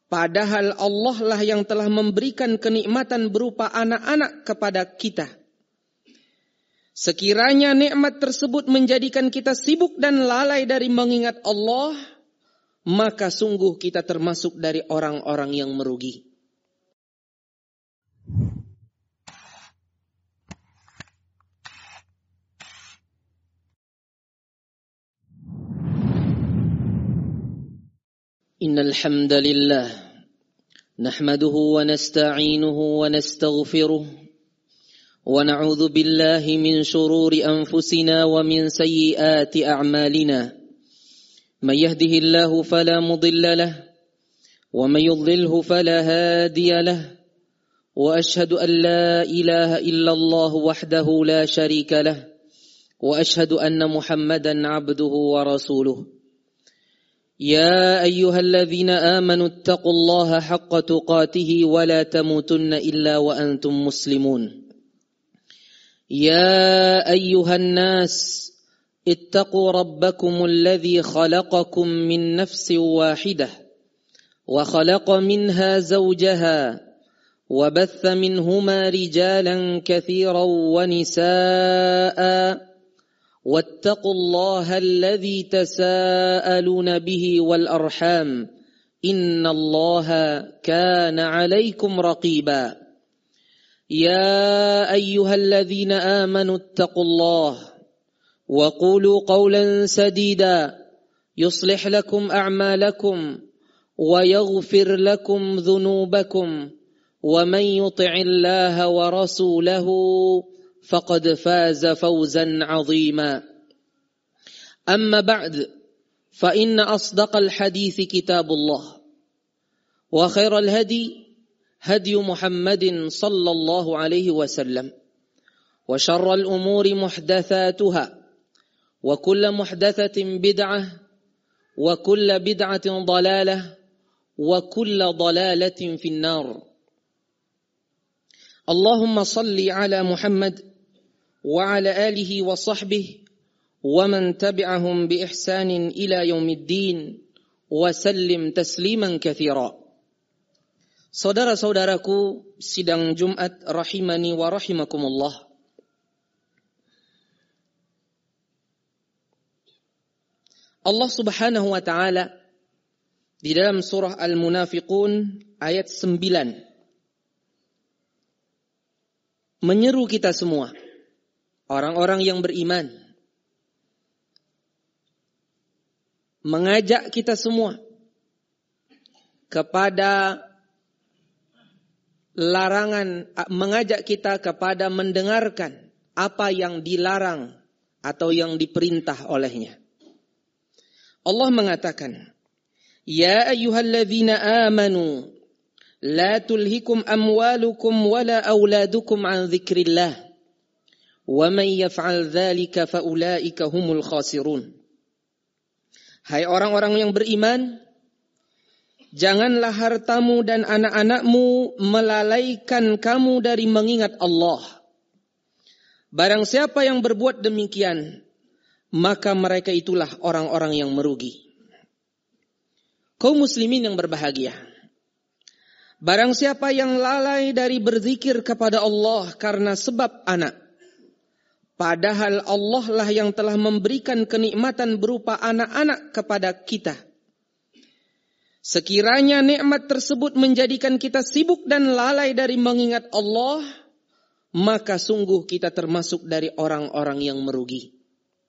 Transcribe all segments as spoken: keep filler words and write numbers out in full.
Padahal Allah lah yang telah memberikan kenikmatan berupa anak-anak kepada kita. Sekiranya nikmat tersebut menjadikan kita sibuk dan lalai dari mengingat Allah, maka sungguh kita termasuk dari orang-orang yang merugi. Innal hamdalillah nahmaduhu wa nasta'inuhu wa nastaghfiruh wa na'udzu billahi min shururi anfusina wa min sayyiati a'malina. May yahdihillahu fala mudilla lahu wa may yudlilhu fala hadiya lahu. Wa ashhadu an la ilaha illallah wahdahu la sharika lahu wa ashhadu anna Muhammadan 'abduhu wa rasuluh. يا أيها الذين آمنوا اتقوا الله حق تقاته ولا تموتن إلا وأنتم مسلمون. يا أيها الناس اتقوا ربكم الذي خلقكم من نفس واحدة وخلق منها زوجها وبث منهما رجالا كثيرا ونساء واتقوا الله الذي تساءلون به والأرحام إن الله كان عليكم رقيبا. يا أيها الذين آمنوا اتقوا الله وقولوا قولا سديدا يصلح لكم أعمالكم ويغفر لكم ذنوبكم ومن يطع الله ورسوله فقد فاز فوزا عظيما. أما بعد فإن أصدق الحديث كتاب الله وخير الهدي هدي محمد صلى الله عليه وسلم وشر الأمور محدثاتها وكل محدثة بدعة وكل بدعة ضلالة وكل ضلالة في النار. اللهم صل على محمد وعلى آله وصحبه ومن تبعهم بإحسان إلى يوم الدين وسلم تسليما كثيرا. Saudara-saudaraku sidang Jumat rahimani wa rahimakumullah. Allah Subhanahu wa taala di dalam surah Al-Munafiqun ayat sembilan menyeru kita semua, orang-orang yang beriman, mengajak kita semua kepada larangan, mengajak kita kepada mendengarkan apa yang dilarang atau yang diperintah olehnya. Allah mengatakan, Ya ayyuhalladzina amanu la tulhikum amwalukum wala auladukum an dzikrillah wa man yaf'al dzalika fa ulaika humul khasirun. Hai orang-orang yang beriman, janganlah hartamu dan anak-anakmu melalaikan kamu dari mengingat Allah. Barang siapa yang berbuat demikian, maka mereka itulah orang-orang yang merugi. Kaum muslimin yang berbahagia, barang siapa yang lalai dari berzikir kepada Allah karena sebab anak, padahal Allah lah yang telah memberikan kenikmatan berupa anak-anak kepada kita. Sekiranya nikmat tersebut menjadikan kita sibuk dan lalai dari mengingat Allah, maka sungguh kita termasuk dari orang-orang yang merugi.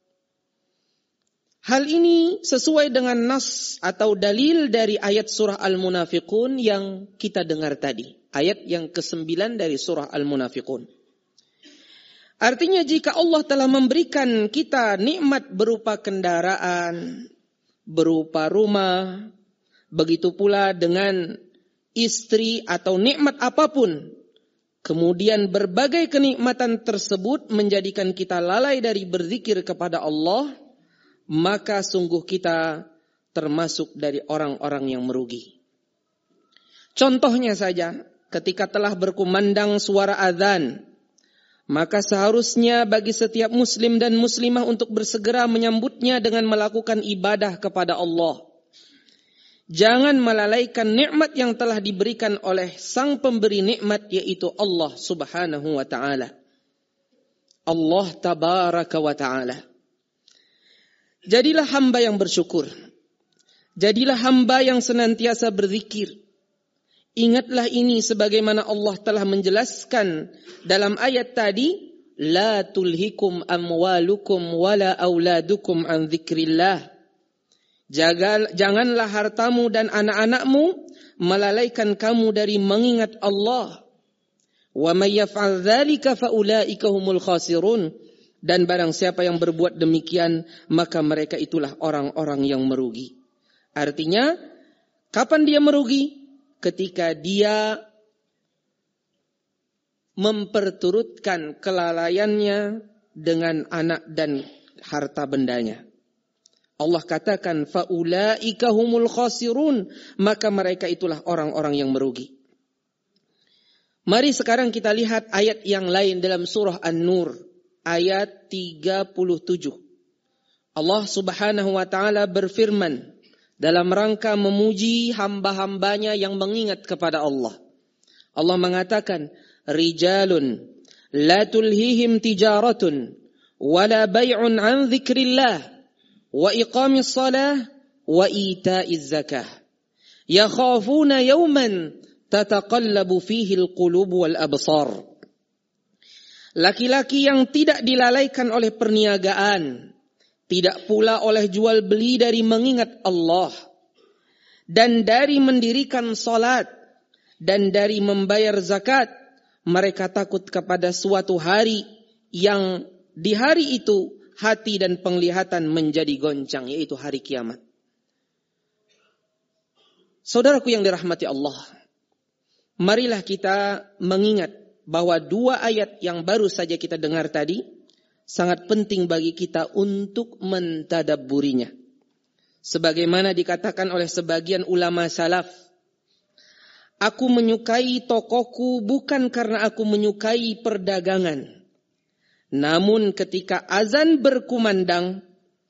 Hal ini sesuai dengan nas atau dalil dari ayat surah Al-Munafiqun yang kita dengar tadi. Ayat yang kesembilan dari surah Al-Munafiqun. Artinya jika Allah telah memberikan kita nikmat berupa kendaraan, berupa rumah, begitu pula dengan istri atau nikmat apapun, kemudian berbagai kenikmatan tersebut menjadikan kita lalai dari berzikir kepada Allah, maka sungguh kita termasuk dari orang-orang yang merugi. Contohnya saja, ketika telah berkumandang suara azan, maka seharusnya bagi setiap muslim dan muslimah untuk bersegera menyambutnya dengan melakukan ibadah kepada Allah. Jangan melalaikan nikmat yang telah diberikan oleh sang pemberi nikmat, yaitu Allah Subhanahu wa ta'ala. Allah tabaraka wa ta'ala. Jadilah hamba yang bersyukur. Jadilah hamba yang senantiasa berzikir. Ingatlah ini sebagaimana Allah telah menjelaskan dalam ayat tadi, la tulhikum amwalukum wala auladukum an dzikrillah. Jaga, janganlah hartamu dan anak-anakmu melalaikan kamu dari mengingat Allah. Wa may yaf'al dzalika fa ulaika humul khasirun. Dan barang siapa yang berbuat demikian, maka mereka itulah orang-orang yang merugi. Artinya, kapan dia merugi? Ketika dia memperturutkan kelalaiannya dengan anak dan harta bendanya. Allah katakan faulaika humul khasirun, maka mereka itulah orang-orang yang merugi. Mari sekarang kita lihat ayat yang lain dalam surah An-Nur ayat tiga puluh tujuh. Allah Subhanahu wa taala berfirman dalam rangka memuji hamba-hambanya yang mengingat kepada Allah. Allah mengatakan, rijalun la tulhihim tijaratun wala bay'un an dzikrillah wa iqamis salah wa ita'iz zakah yakhafuna yawman tataqallabu fihi alqulub wal absar. Laki-laki yang tidak dilalaikan oleh perniagaan, tidak pula oleh jual beli dari mengingat Allah, dan dari mendirikan salat, dan dari membayar zakat, mereka takut kepada suatu hari yang di hari itu hati dan penglihatan menjadi goncang, yaitu hari kiamat. Saudaraku yang dirahmati Allah, marilah kita mengingat bahwa dua ayat yang baru saja kita dengar tadi sangat penting bagi kita untuk mentadabburinya. Sebagaimana dikatakan oleh sebagian ulama salaf, aku menyukai tokoku bukan karena aku menyukai perdagangan. Namun ketika azan berkumandang,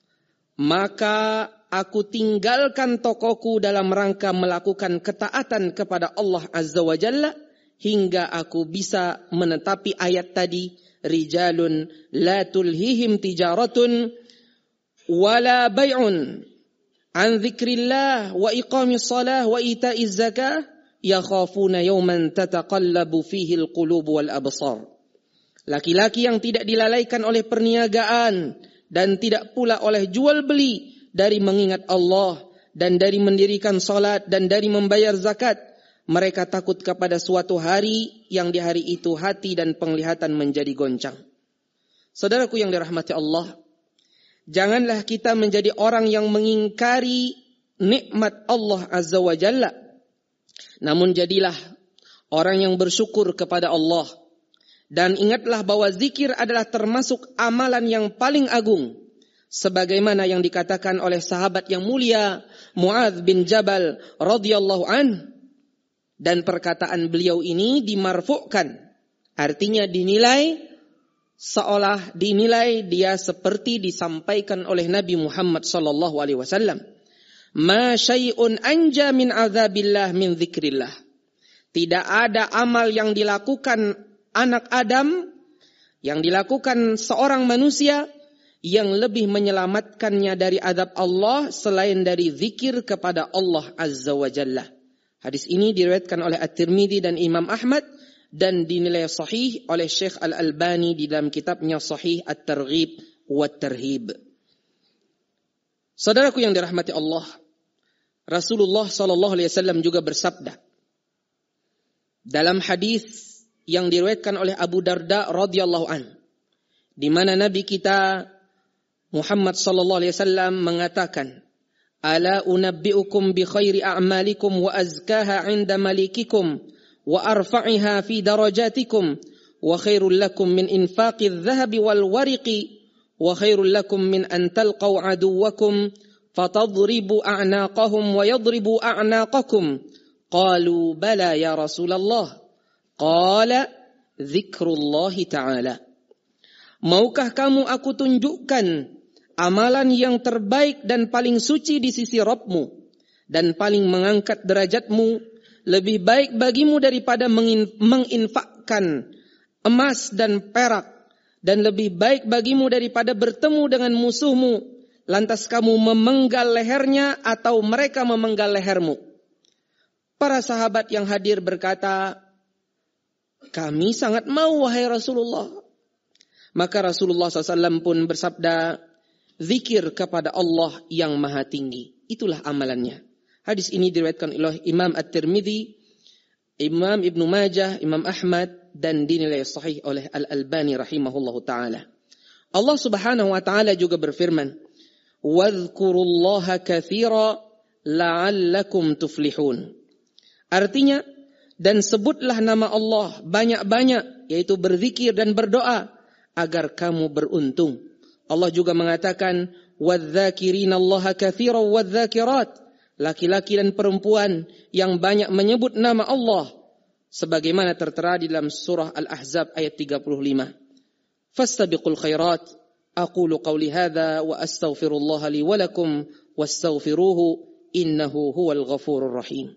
maka aku tinggalkan tokoku dalam rangka melakukan ketaatan kepada Allah Azza wa Jalla, hingga aku bisa menetapi ayat tadi, rijalun la tulhihim tijaratun wala bay'un an dzikrillah wa iqamis salah wa ita'iz zakah yakhafuna yawman tataqallabu fihi alqulub wal absar. Laki-laki yang tidak dilalaikan oleh perniagaan dan tidak pula oleh jual beli dari mengingat Allah dan dari mendirikan salat dan dari membayar zakat, mereka takut kepada suatu hari yang di hari itu hati dan penglihatan menjadi goncang. Saudaraku yang dirahmati Allah, janganlah kita menjadi orang yang mengingkari nikmat Allah Azza wa Jalla. Namun jadilah orang yang bersyukur kepada Allah. Dan ingatlah bahwa zikir adalah termasuk amalan yang paling agung. Sebagaimana yang dikatakan oleh sahabat yang mulia Muadz bin Jabal radhiyallahu anhu. Dan perkataan beliau ini dimarfu'kan. Artinya dinilai seolah dinilai dia seperti disampaikan oleh Nabi Muhammad sallallahu alaihi wasallam. Ma syai'un anja min azabillah min dzikrillah. Tidak ada amal yang dilakukan anak Adam, yang dilakukan seorang manusia yang lebih menyelamatkannya dari azab Allah selain dari zikir kepada Allah Azza wa Jalla. Hadis ini diriwayatkan oleh At-Tirmidzi dan Imam Ahmad dan dinilai sahih oleh Syekh Al-Albani di dalam kitabnya Sahih At-Targhib wa Tarhib. Saudaraku yang dirahmati Allah, Rasulullah sallallahu alaihi wasallam juga bersabda dalam hadis yang diriwayatkan oleh Abu Darda radhiyallahu an, di mana Nabi kita Muhammad sallallahu alaihi wasallam mengatakan, ala unabbiukum bi khairi a'malikum wa azkaha 'inda malikikum wa arfa'iha fi darajatikum wa khairul lakum min infaqidh dhahabi wal wariqi wa khairul lakum min an talqaw aduwwakum fatadribu a'naqahum wa yadribu a'naqakum. Qalu bala ya Rasulullah. Qala dzikrullahi ta'ala. Maukah kamu aku tunjukkan amalan yang terbaik dan paling suci di sisi Rabbmu, dan paling mengangkat derajatmu, lebih baik bagimu daripada menginfakkan emas dan perak, dan lebih baik bagimu daripada bertemu dengan musuhmu, lantas kamu memenggal lehernya atau mereka memenggal lehermu. Para sahabat yang hadir berkata, kami sangat mau wahai Rasulullah. Maka Rasulullah shallallahu alaihi wasallam pun bersabda, zikir kepada Allah yang maha tinggi, itulah amalannya. Hadis ini diriwayatkan oleh Imam At-Tirmidzi, Imam Ibnu Majah, Imam Ahmad, dan dinilai sahih oleh Al-Albani rahimahullahu ta'ala. Allah subhanahu wa ta'ala juga berfirman, وَاذْكُرُوا كَثِيرًا لَعَلَّكُمْ تُفْلِحُونَ. Artinya, dan sebutlah nama Allah banyak-banyak, yaitu berzikir dan berdoa, agar kamu beruntung. Allah juga mengatakan, وَالذَّاكِرِينَ اللَّهَ كَثِيرًا وَالذَّاكِرَاتِ. Laki-laki dan perempuan yang banyak menyebut nama Allah, sebagaimana tertera di dalam surah Al-Ahzab ayat tiga puluh lima. Fastabiqul khairat, aqulu qawli hadza wa astaghfirullah li wa lakum wastaghfiruhu innahu huwal ghafurur rahim.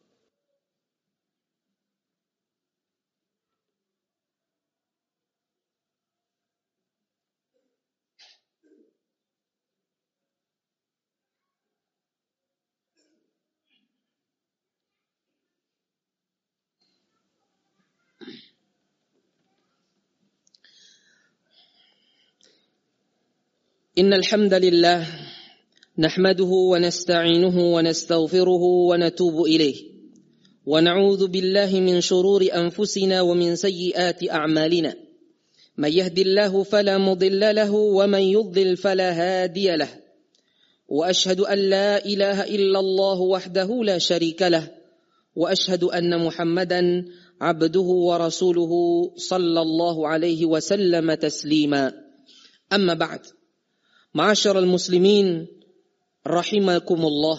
Innal hamdalillah nahmaduhu wa nasta'inuhu wa nastaghfiruhu wa natubu ilayh wa na'udzu billahi min shururi anfusina wa min sayyiati a'malina may yahdihillahu fala mudilla lahu wa man yudlil fala hadiya lahu wa ashhadu an la ilaha illallah wahdahu la sharika lahu wa ashhadu anna Muhammadan abduhu wa rasuluhu sallallahu alaihi wasallam taslima. Amma ba'd. Ma'asyiral muslimin rahimakumullah.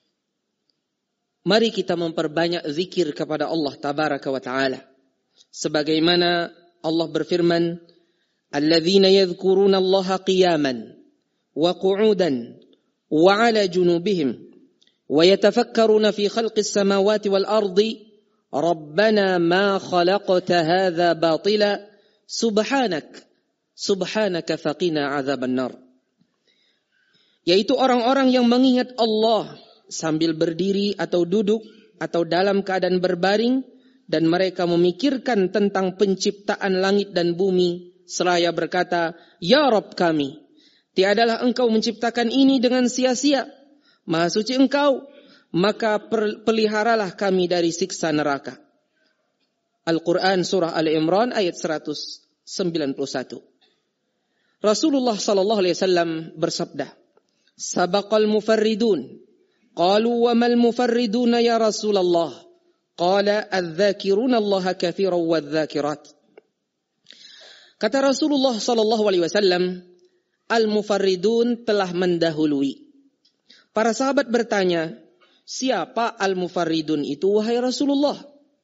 Mari kita memperbanyak zikir kepada Allah tabaraka wa taala. Sebagaimana Allah berfirman, alladzina yadhkuruna Allaha qiyaman wa qu'udan wa 'ala junubihim wa yatafakkaruna fi khalqis samawati wal ardi rabbana ma khalaqta hadza batila subhanak subhanaka faqina 'adzaban nar. Yaitu orang-orang yang mengingat Allah sambil berdiri atau duduk atau dalam keadaan berbaring, dan mereka memikirkan tentang penciptaan langit dan bumi seraya berkata, ya Rabb kami, tiadalah engkau menciptakan ini dengan sia-sia, maha suci engkau, maka peliharalah kami dari siksa neraka. Al-Quran surah Al-Imran ayat seratus sembilan puluh satu. Rasulullah sallallahu alaihi wasallam bersabda, sabaqal mufarridun. Qalu wa mal mufarriduna ya Rasulullah? Qala adz-dzakiruna Allah katsiran wadz-dzakirat. Kata Rasulullah sallallahu alaihi wasallam, al-mufarridun telah mendahului. Para sahabat bertanya, siapa al-mufarridun itu wahai Rasulullah?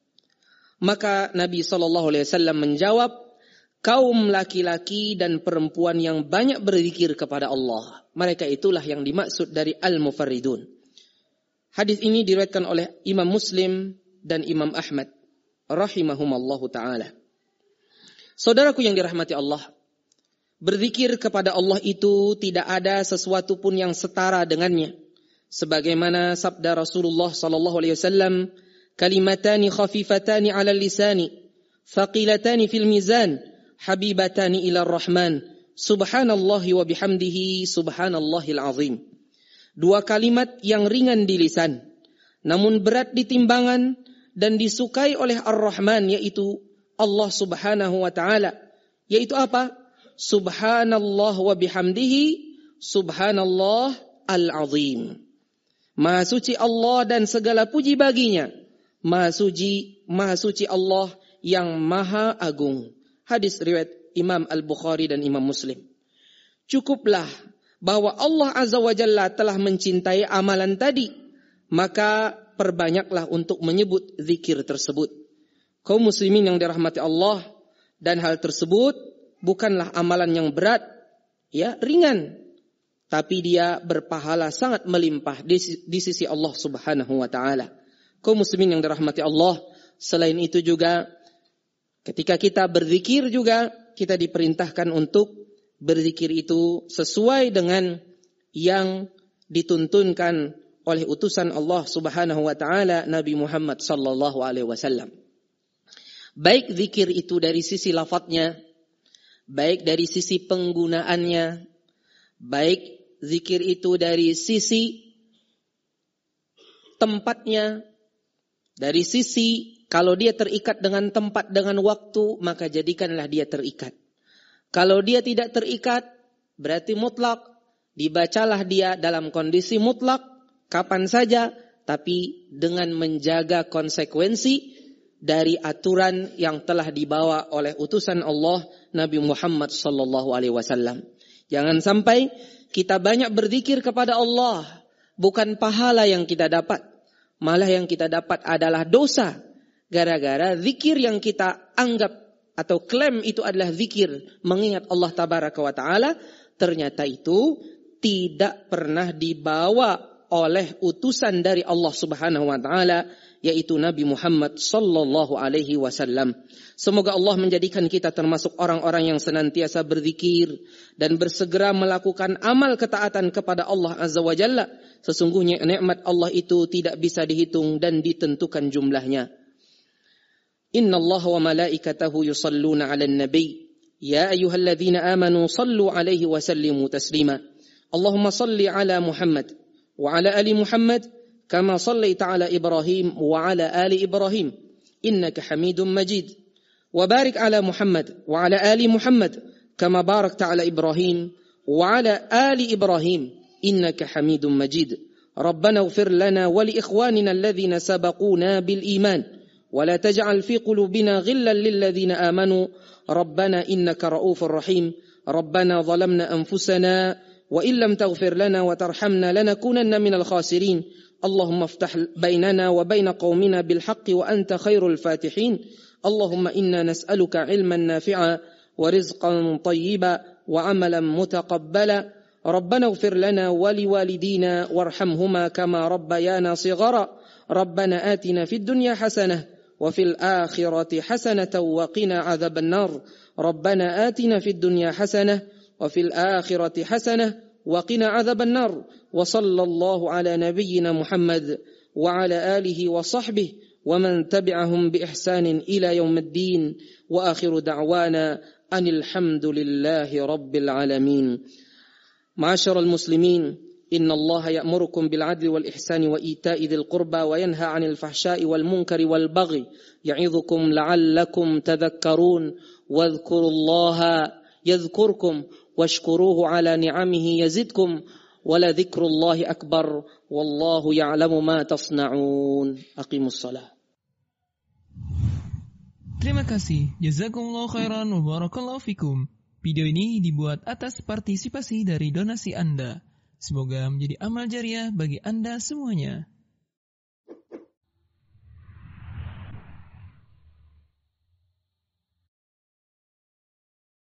Maka Nabi sallallahu alaihi wasallam menjawab, kaum laki-laki dan perempuan yang banyak berzikir kepada Allah. Mereka itulah yang dimaksud dari al-mufarridun. Hadis ini diriwayatkan oleh Imam Muslim dan Imam Ahmad rahimahumallahu taala. Saudaraku yang dirahmati Allah, berzikir kepada Allah itu tidak ada sesuatu pun yang setara dengannya. Sebagaimana sabda Rasulullah sallallahu alaihi wasallam, kalimatani khafifatani 'ala lisani, thaqilatani fil mizan, habibatani ila rahman, subhanallahi wa bihamdihi, subhanallahil azim. Dua kalimat yang ringan di lisan, namun berat di timbangan dan disukai oleh Ar-Rahman, yaitu Allah subhanahu wa ta'ala. Yaitu apa? Subhanallah wa bihamdihi, subhanallah al-azim. Maha suci Allah dan segala puji baginya. Maha suci, maha suci Allah yang maha agung. Hadis riwayat Imam Al-Bukhari dan Imam Muslim. Cukuplah bahwa Allah Azza wa Jalla telah mencintai amalan tadi, maka perbanyaklah untuk menyebut zikir tersebut. Kaum muslimin yang dirahmati Allah, dan hal tersebut bukanlah amalan yang berat, ya, ringan. tapi dia berpahala sangat melimpah di, di sisi Allah Subhanahu wa taala. Kaum muslimin yang dirahmati Allah, selain itu juga ketika kita berzikir juga kita diperintahkan untuk berzikir itu sesuai dengan yang dituntunkan oleh utusan Allah Subhanahu wa taala Nabi Muhammad sallallahu alaihi wasallam. Baik zikir itu dari sisi lafadznya, baik dari sisi penggunaannya, baik zikir itu dari sisi tempatnya, dari sisi kalau dia terikat dengan tempat, dengan waktu, maka jadikanlah dia terikat. Kalau dia tidak terikat, berarti mutlak, dibacalah dia dalam kondisi mutlak, kapan saja, tapi dengan menjaga konsekuensi dari aturan yang telah dibawa oleh utusan Allah Nabi Muhammad sallallahu alaihi wasallam. Jangan sampai kita banyak berzikir kepada Allah, bukan pahala yang kita dapat, malah yang kita dapat adalah dosa. Gara-gara zikir yang kita anggap atau klaim itu adalah zikir mengingat Allah tabaraka wa taala, ternyata itu tidak pernah dibawa oleh utusan dari Allah Subhanahu wa taala, yaitu Nabi Muhammad sallallahu alaihi wasallam. Semoga Allah menjadikan kita termasuk orang-orang yang senantiasa berzikir dan bersegera melakukan amal ketaatan kepada Allah Azza wa Jalla. Sesungguhnya nikmat Allah itu tidak bisa dihitung dan ditentukan jumlahnya. Inna Allah wa malaikatahu yusalluna 'alan nabi ya ayyuhalladzina amanu sallu 'alaihi wa sallimu taslima. Allahumma salli 'ala Muhammad وعلى آل محمد كما صليت على إبراهيم وعلى آل إبراهيم إنك حميد مجيد وبارك على محمد وعلى آل محمد كما باركت على إبراهيم وعلى آل إبراهيم إنك حميد مجيد ربنا اغفر لنا ولإخواننا الذين سبقونا بالإيمان ولا تجعل في قلوبنا غلا للذين آمنوا ربنا إنك رؤوف رحيم ربنا ظلمنا أنفسنا وإن لم تغفر لنا وترحمنا لنكونن من الخاسرين اللهم افتح بيننا وبين قومنا بالحق وأنت خير الفاتحين اللهم إنا نسألك علما نافعا ورزقا طيبا وعملا متقبلا ربنا اغفر لنا ولوالدينا وارحمهما كما ربيانا صغارا ربنا آتنا في الدنيا حسنة وفي الآخرة حسنة وقنا عذاب النار ربنا آتنا في الدنيا حسنة وفي الآخرة حسنة وقنا عذاب النار وصلى الله على نبينا محمد وعلى آله وصحبه ومن تبعهم بإحسان إلى يوم الدين وآخر دعوانا أن الحمد لله رب العالمين. معاشر المسلمين إن الله يأمركم بالعدل والإحسان وإيتاء ذي القربى وينهى عن الفحشاء والمنكر والبغي يعظكم لعلكم تذكرون واذكروا الله يذكركم واشكروه على نعمه يزدكم ولذكر الله أكبر والله يعلم ما تصنعون أقيموا الصلاة. Terima kasih. Jazakumullah khairan wa barakallahu fikum. Video ini dibuat atas partisipasi dari donasi Anda. Semoga menjadi amal jariah bagi Anda semuanya.